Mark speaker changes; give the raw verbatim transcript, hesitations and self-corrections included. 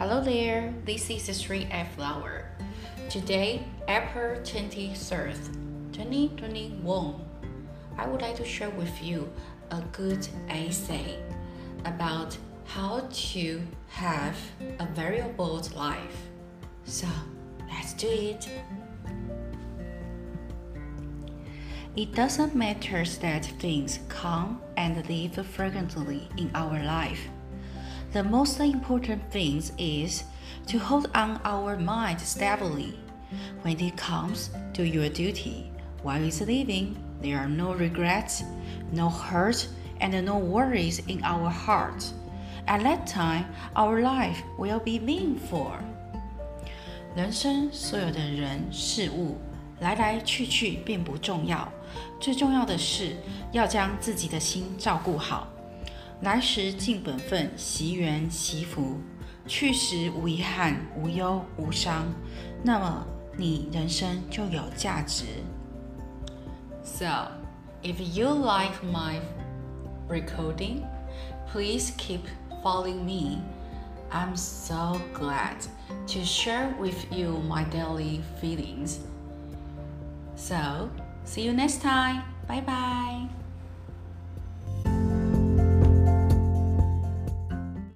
Speaker 1: Hello there, this is Sri F. Flower. Today, April twenty-third, twenty twenty-one, I would like to share with you a good essay about how to have a very bold life. So, let's do it. It doesn't matter that things come and leave frequently in our life. The most important thing is to hold on our mind stably. When it comes to your duty, while it's living, there are no regrets, no hurt, and no worries in our heart. At that time, our life will be meaningful. 人生所有的人事物来来去去并不重要，最重要的是要将自己的心照顾好。来时尽本分，惜缘惜福，去时无遗憾，无忧无伤，那么你人生就有价值。So, if you like my recording, please keep following me. I'm so glad to share with you my daily feelings. So, see you next time. Bye bye.